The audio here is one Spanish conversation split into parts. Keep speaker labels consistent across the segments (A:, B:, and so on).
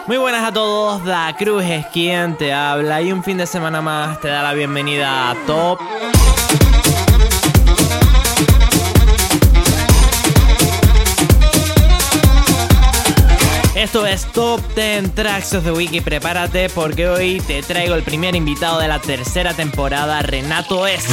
A: Muy buenas a todos, Da Cruz es quien te habla y un fin de semana más te da la bienvenida a Top. Esto es Top 10 Tracks of the Week y prepárate porque hoy te traigo el primer invitado de la tercera temporada, Renato S.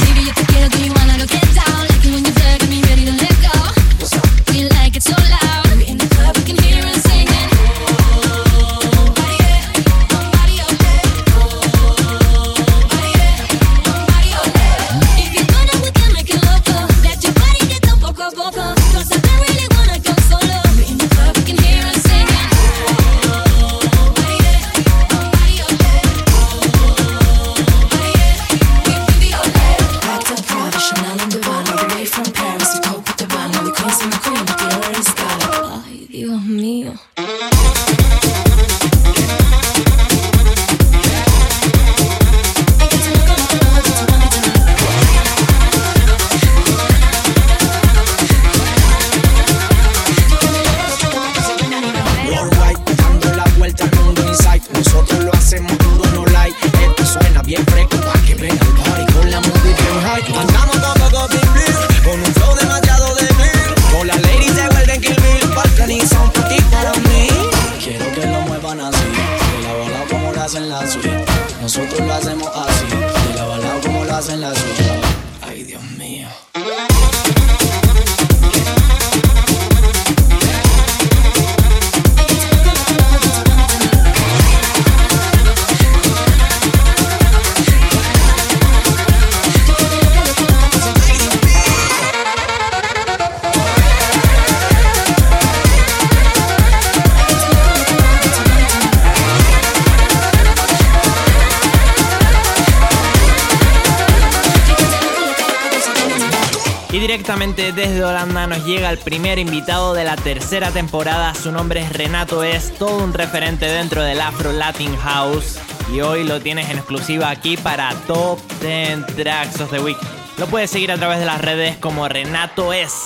B: Nosotros lo hacemos así, y la balada como lo hacen la suya. Ay, Dios mío.
A: Y directamente desde Holanda nos llega el primer invitado de la tercera temporada. Su nombre es Renato S, todo un referente dentro del Afro Latin House. Y hoy lo tienes en exclusiva aquí para Top 10 Tracks of the Week. Lo puedes seguir a través de las redes como Renato S.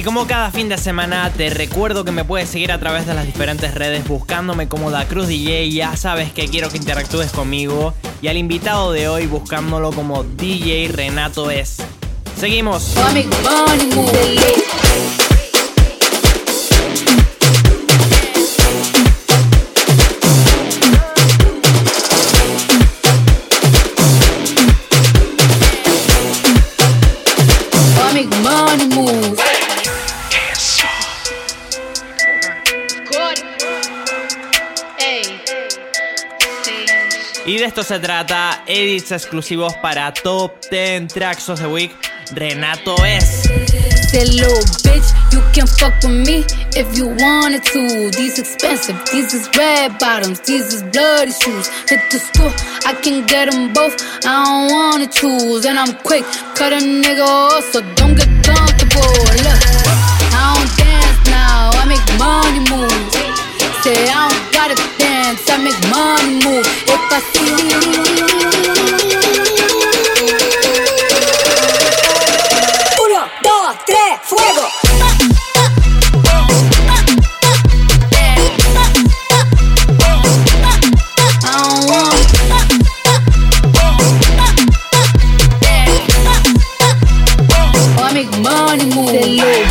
A: Y como cada fin de semana, te recuerdo que me puedes seguir a través de las diferentes redes buscándome como Da Cruz DJ. Ya sabes que quiero que interactúes conmigo. Y al invitado de hoy buscándolo como DJ Renato Es. Seguimos. Y de esto se trata, edits exclusivos para Top 10 Tracks of the Week, Renato Es.
C: That little bitch, you can fuck with me if you wanted to. These expensive, these is red bottoms, these is bloody shoes. Hit the store, I can get them both, I don't wanna choose. And I'm quick, cut a nigga off, so don't get comfortable. Look, I don't dance now, I make money move. Say I don't gotta dance, I make money move. If I see 1, 2, 3, fuego. I make money move.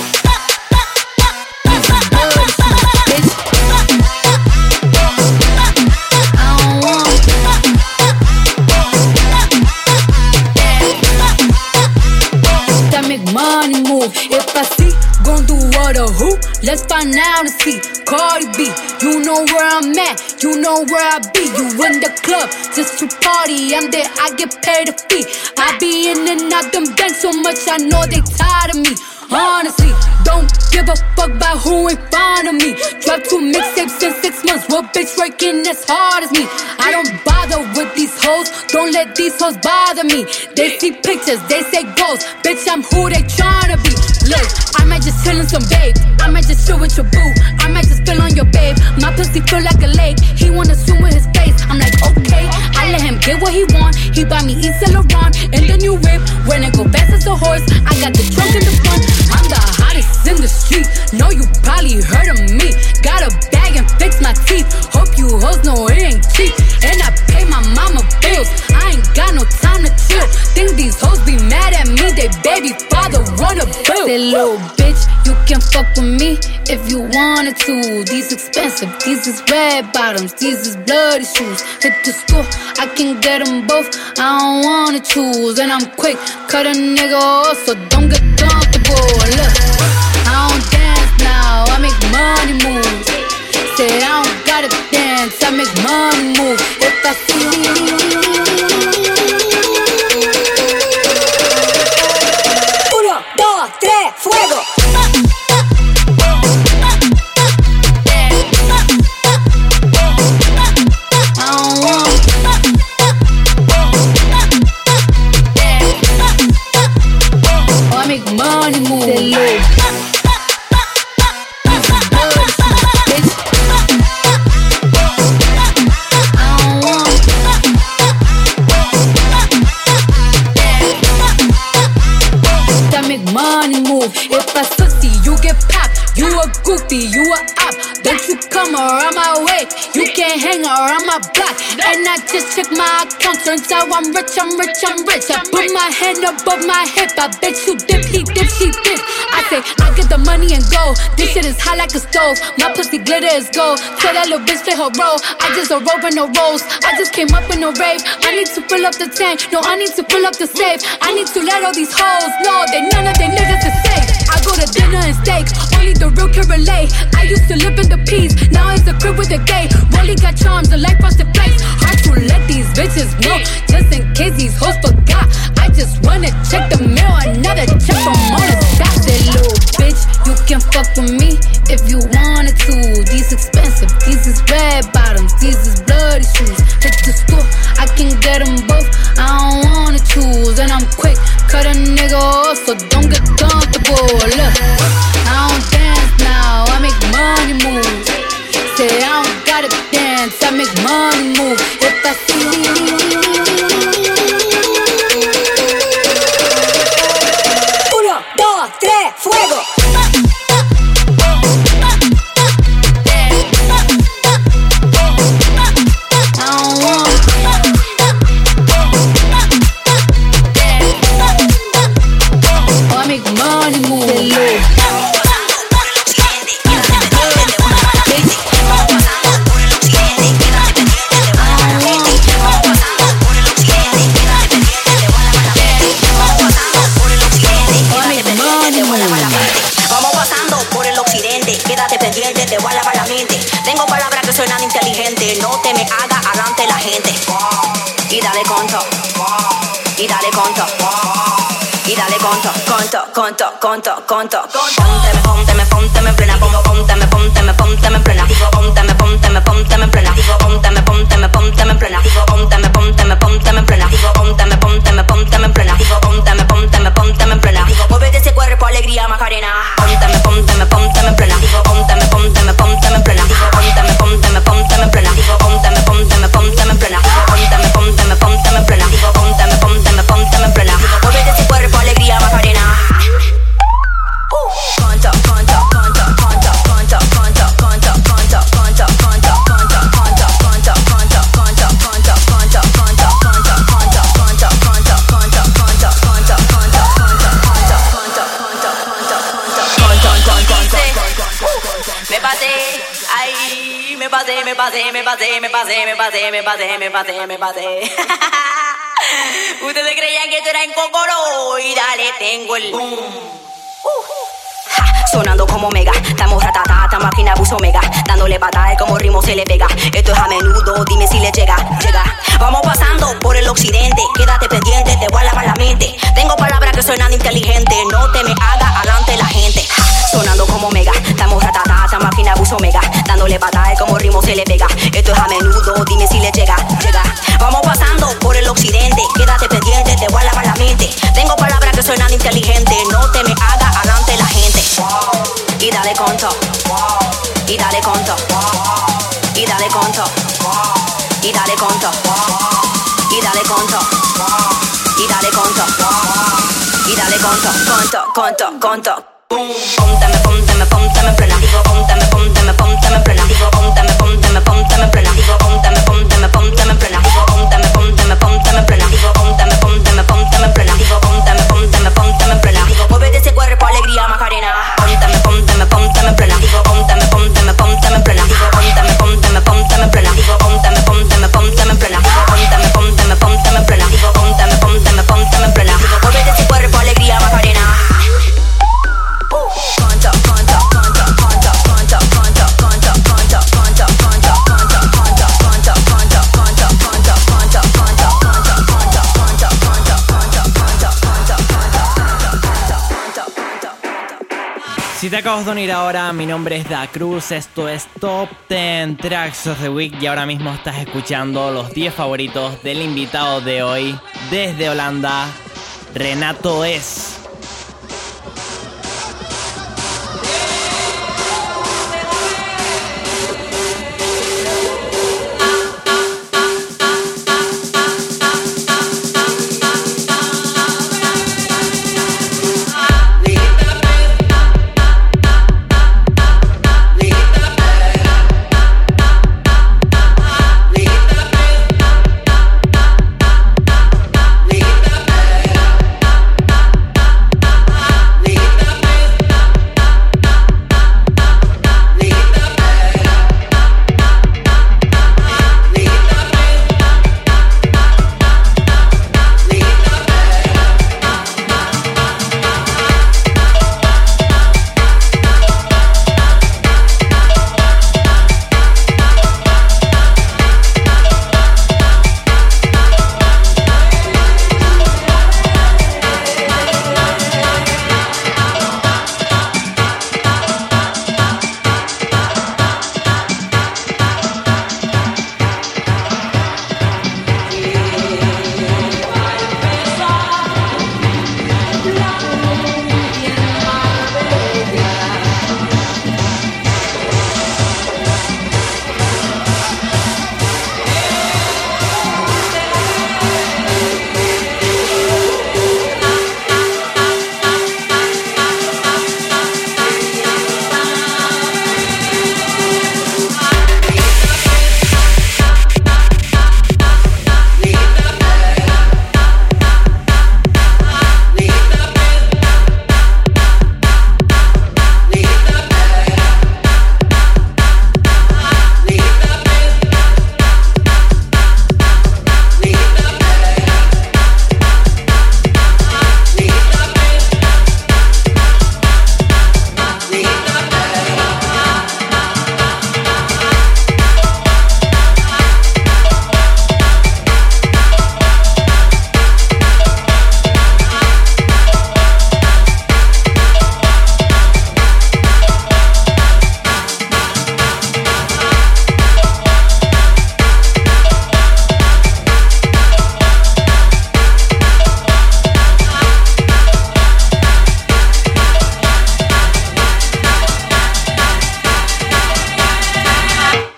C: Money move. If I see, gon' do what or who? Let's find out and see. Cardi B, you know where I'm at, you know where I be. You in the club just to party, I'm there, I get paid a fee. I be in and out them banks so much, I know they tired of me. Honestly, don't give a fuck about who in front of me. Drop 2 mixtapes in 6 months. What bitch working as hard as me? I don't bother with these hoes. Don't let these hoes bother me. They see pictures, they say goals. Bitch, I'm who they tryna be. Look, I might just chill in some babe. I might just chill with your boo. I might just spill on your babe. My pussy feel like a lake. He wanna swim with his face. I'm like, okay. I let him get what he want. He buy me Yves Saint Laurent and the new whip. When it go fast as a horse, I got the trunk in the front. I'm the hottest in the street. Know you probably heard of me. Got a bag and fix my teeth. Hope you hoes know it ain't cheap. And I pay my mama bills. I ain't got no time to chill. Think these hoes be mad at me. They baby father wanna bill. Say little bitch, you can fuck with me if you wanted to. These expensive, these is red bottoms, these is bloody shoes. Hit the store, I can get them both, I don't wanna choose. And I'm quick, cut a nigga off, so don't get comfortable. Look, I don't dance now, I make money move. Say I don't gotta dance, I make money move. If I see 1, 2, 3, fuego. I make money move. Money move. If I sussy, you get popped. You a goofy, you a op. Don't you come around my way. You can't hang around my block. And I just check my account. Turns out I'm rich, I'm rich, I'm rich. I put my hand above my hip. I bet you dip, he dip, she dip. I say, I get the money and go. This shit is hot like a stove. My pussy glitter is gold. Tell that little bitch play her role. I just a rope and no rolls. I just came up in a rave. I need to fill up the tank. No, I need to fill up the safe. I need to let all these hoes know that none of they niggas is safe. I go to dinner and steak. Only the real can relate. I used to live in the peas. Now it's a crib with a gay. Rolly got charms, a life frosted place. Hard to let these bitches know. Just in case these hoes forgot. I just wanna check the mail. Another check from all the stop. That little bitch, you can fuck with me if you wanted to. These expensive, these is red bottoms, these is bloody shoes. Hit the store, I can get them both, I don't wanna choose. And I'm quick, cut a nigga off, so don't get comfortable. Look, I don't dance now, I make money move. Say I don't gotta dance, I make money move. If I see 1, 2, 3, fuego.
D: Pónteme en plena, pónteme en plena, pónteme en plena, pónteme en plena, pónteme en plena, pónteme en plena, en plena. Muévete ese cuerpo, alegría, Macarena. Pónteme en plena, pónteme en plena, pónteme en plena, pónteme en plena, pónteme en plena, en plena. Muévete ese cuerpo, alegría, Macarena. Me pasé. Ustedes creían que esto era en Cocoro y dale, tengo el boom. Sonando como mega, estamos ratatata, máquina buzo mega, dándole patada como ritmo se le pega. Esto es a menudo, dime si le llega. Vamos pasando por el occidente, quédate pendiente, te voy a lavar la mente. Tengo palabras que suenan inteligentes, no te me haga adelante la gente. Sonando como mega, estamos ratatata, máquina buzo mega, dándole patada como ritmo se le pega. Esto es a menudo, dime si le llega. Vamos pasando por el occidente, quédate pendiente, te voy a lavar la mente. Tengo palabras que suenan inteligentes, no te me haga adelante la gente. Y dale conto, y dale conto, y dale conto, y dale conto, y dale conto, y dale conto, y dale conto. Pónteme en plena, pónteme en plena, pónteme en plena, pónteme en plena, en plena. Muévete ese cuerpo, alegría, Macarena. Pónteme en plena, pónteme en plena, pónteme en plena, en plena. Muévete ese cuerpo, alegría, Macarena.
A: Si te acabas de unir ahora, mi nombre es Da Cruz, esto es Top 10 Tracks of the Week y ahora mismo estás escuchando los 10 favoritos del invitado de hoy desde Holanda, Renato Es.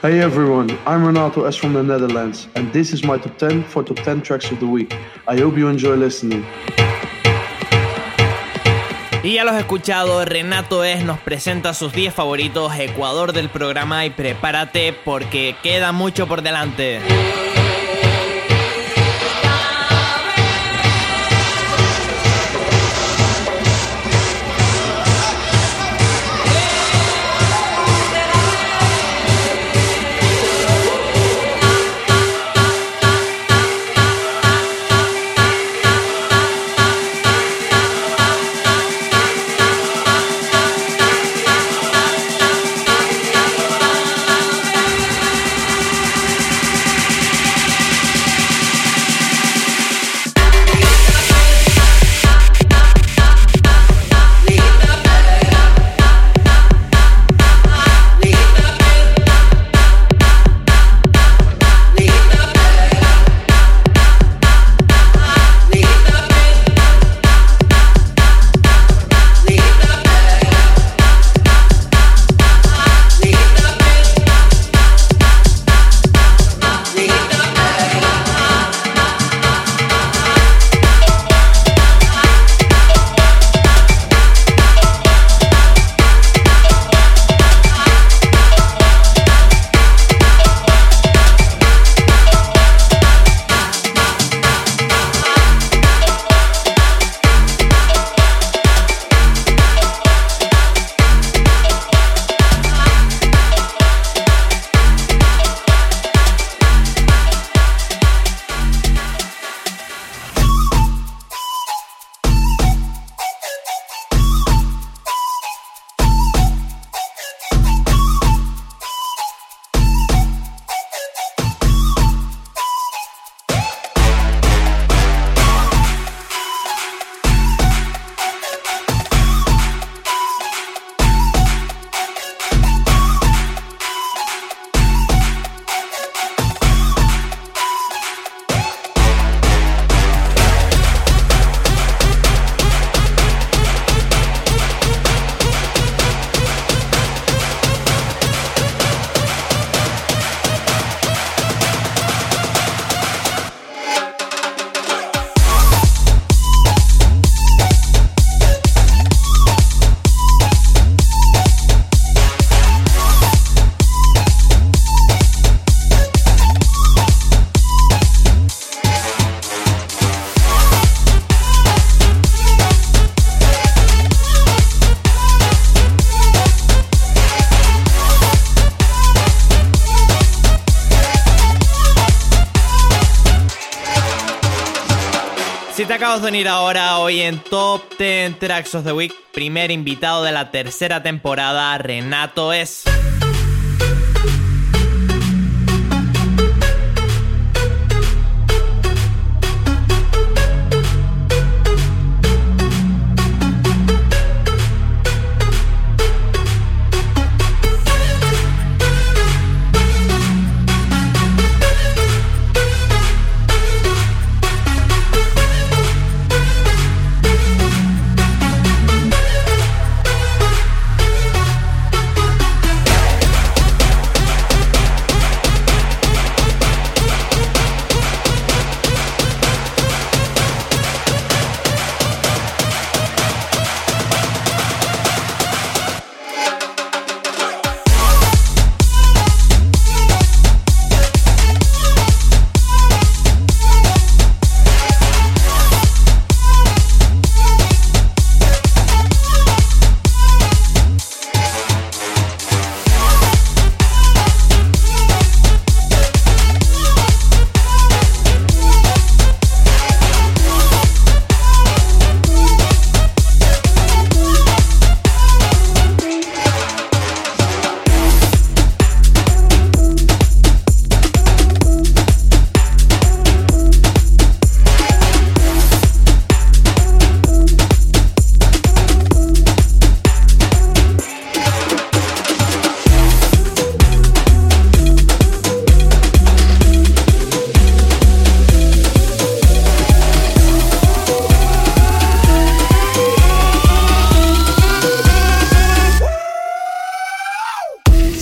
E: Hey everyone, I'm Renato S from the Netherlands, and this is my top 10 for top 10 tracks of the week. I hope you enjoy listening.
A: Y ya los he escuchado, Renato S nos presenta sus 10 favoritos, Ecuador del programa, y prepárate porque queda mucho por delante. Si te acabas de unir ahora, hoy en Top 10 Tracks of the Week, primer invitado de la tercera temporada, Renato S.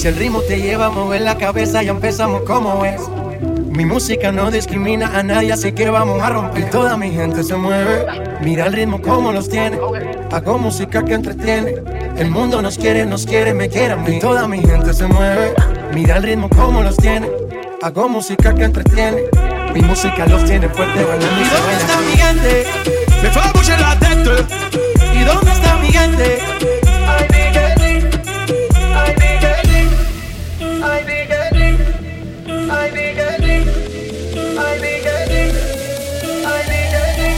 F: Si el ritmo te lleva a mover la cabeza, ya empezamos como es. Mi música no discrimina a nadie, así que vamos a romper. Y toda mi gente se mueve, mira el ritmo como los tiene. Hago música que entretiene. El mundo nos quiere, me quiere a mí. Y toda mi gente se mueve, mira el ritmo como los tiene. Hago música que entretiene. Mi música los tiene fuerte bailando. ¿Y dónde está mi gente? Me fue a bouger la tête. ¿Y dónde está mi gente? Ay, Miguelín, ay, Miguelín, ay, Miguelín, ay, Miguelín, ay, Miguelín, ay, Miguelín.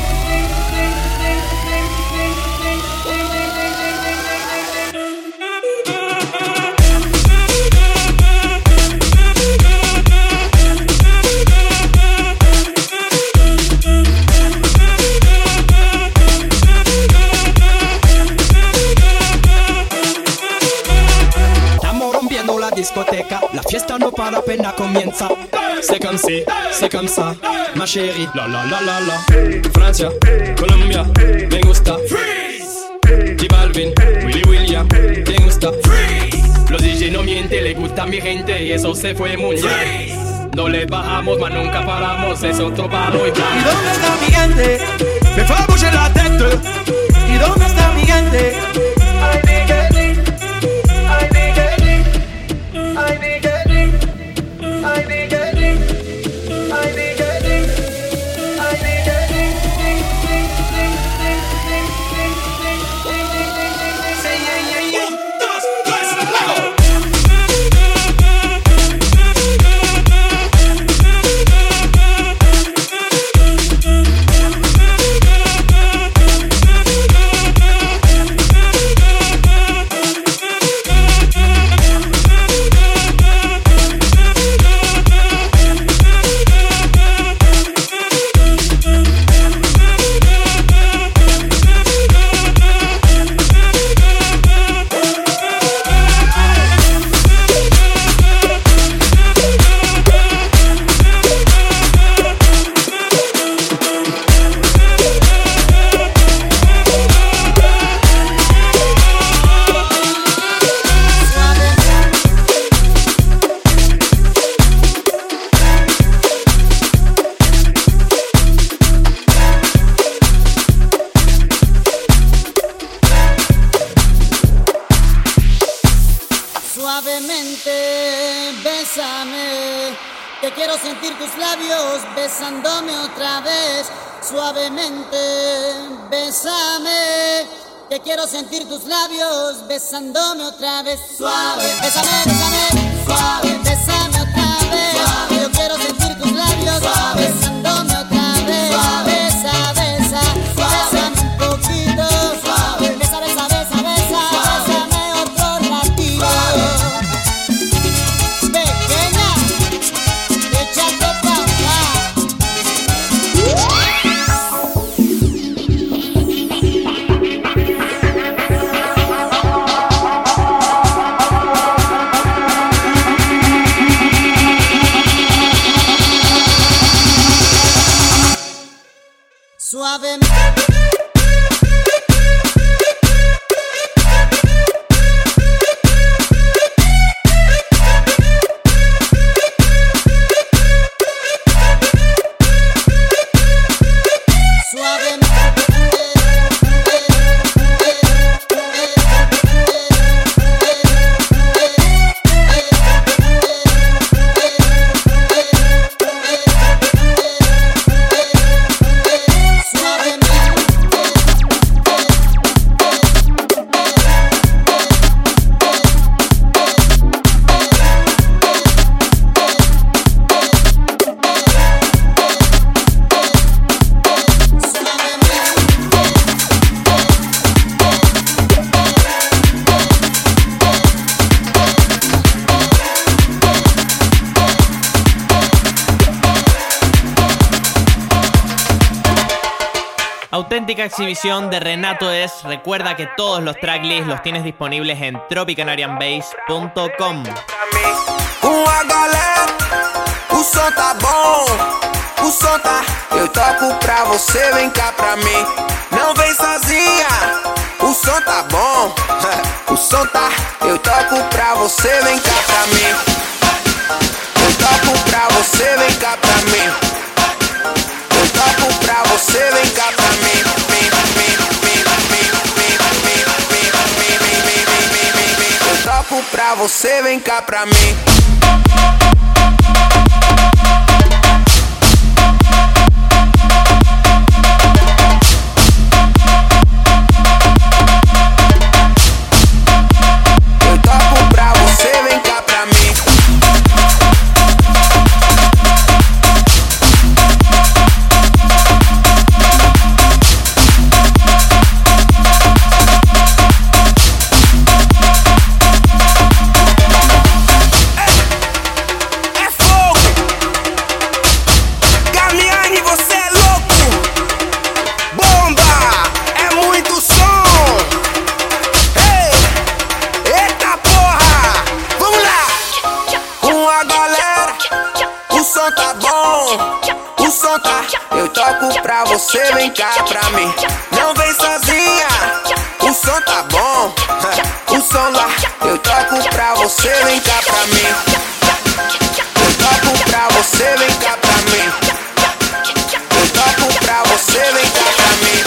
G: Discoteca, la fiesta no para apenas comienza. C'est comme ça, ma chérie. La la la la la. Francia, Colombia, me gusta. Freeze. J Balvin, Willy William, me gusta. Freeze. Los DJ no mienten, le gusta a mi gente y eso se fue muy bien. No le bajamos, mas nunca paramos, es otro palo y plan.
F: ¿Y dónde está mi gente? Me fue a bouger la tête. ¿Y dónde está mi gente? Ay, Miguelín, ay, Miguelín, ay, Miguelín, ay, Miguelín, ay, Miguelín, ay, Miguelín. Say yeah, yeah, yeah. 1, 2, 3, luego.
H: Suavemente, bésame, que quiero sentir tus labios besándome otra vez. Suavemente, bésame, que quiero sentir tus labios besándome otra vez. Suave, bésame, bésame, suave, bésame otra vez. Suave, yo quiero sentir tus labios besándome otra vez. Suave, besa, besa, bésame un poquito. Suave, besa, besa, besa, besa, bésame otro ratito. Pequeña, échate pa' acá. Suavemente.
A: Auténtica exhibición de Renato Es. Recuerda que todos los tracklists los tienes disponibles en tropicanarianbase.com.
I: Uma galera, o som tá bom, o som tá. Eu toco pra você, vem cá pra mim. Não vem sozinha, o som tá bom, o som tá. Eu toco pra você, você, vem cá pra mim. Eu toco pra você, vem cá pra mim. Eu toco pra você, vem cá pra mim. Eu toco pra você, vem cá pra mim. Pra você, vem cá pra mim. Não vem sozinha, o som tá bom. O som lá, eu toco pra você, vem cá pra mim. Eu toco pra você, vem cá pra mim. Eu toco pra você, vem cá pra mim.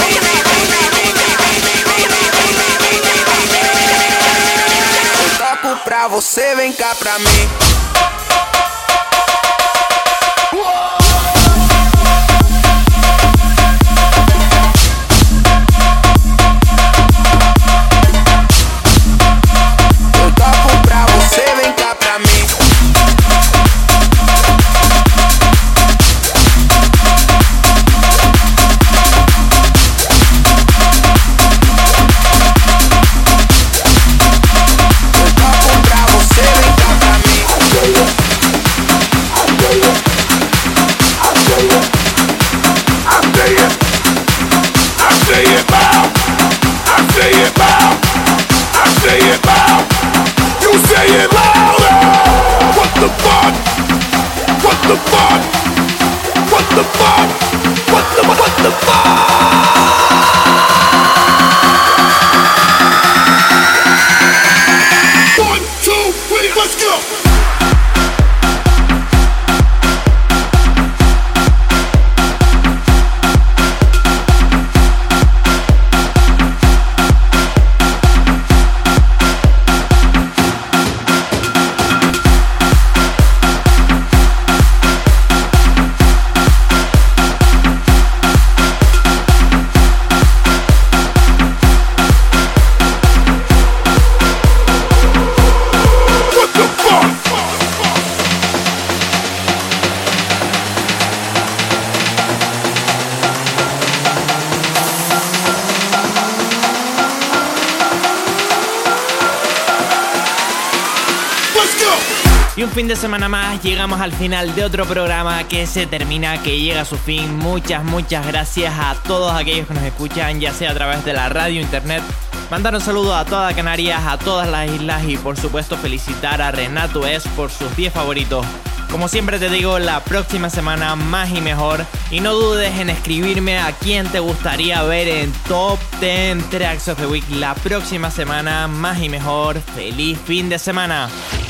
I: Eu toco pra você, vem cá pra mim.
A: Y un fin de semana más, llegamos al final de otro programa que se termina, que llega a su fin. Muchas gracias a todos aquellos que nos escuchan, ya sea a través de la radio, internet. Mandar un saludo a toda Canarias, a todas las islas y por supuesto felicitar a Renato Es por sus 10 favoritos. Como siempre te digo, la próxima semana más y mejor. Y no dudes en escribirme a quién te gustaría ver en Top 10 Tracks of the Week la próxima semana más y mejor. ¡Feliz fin de semana!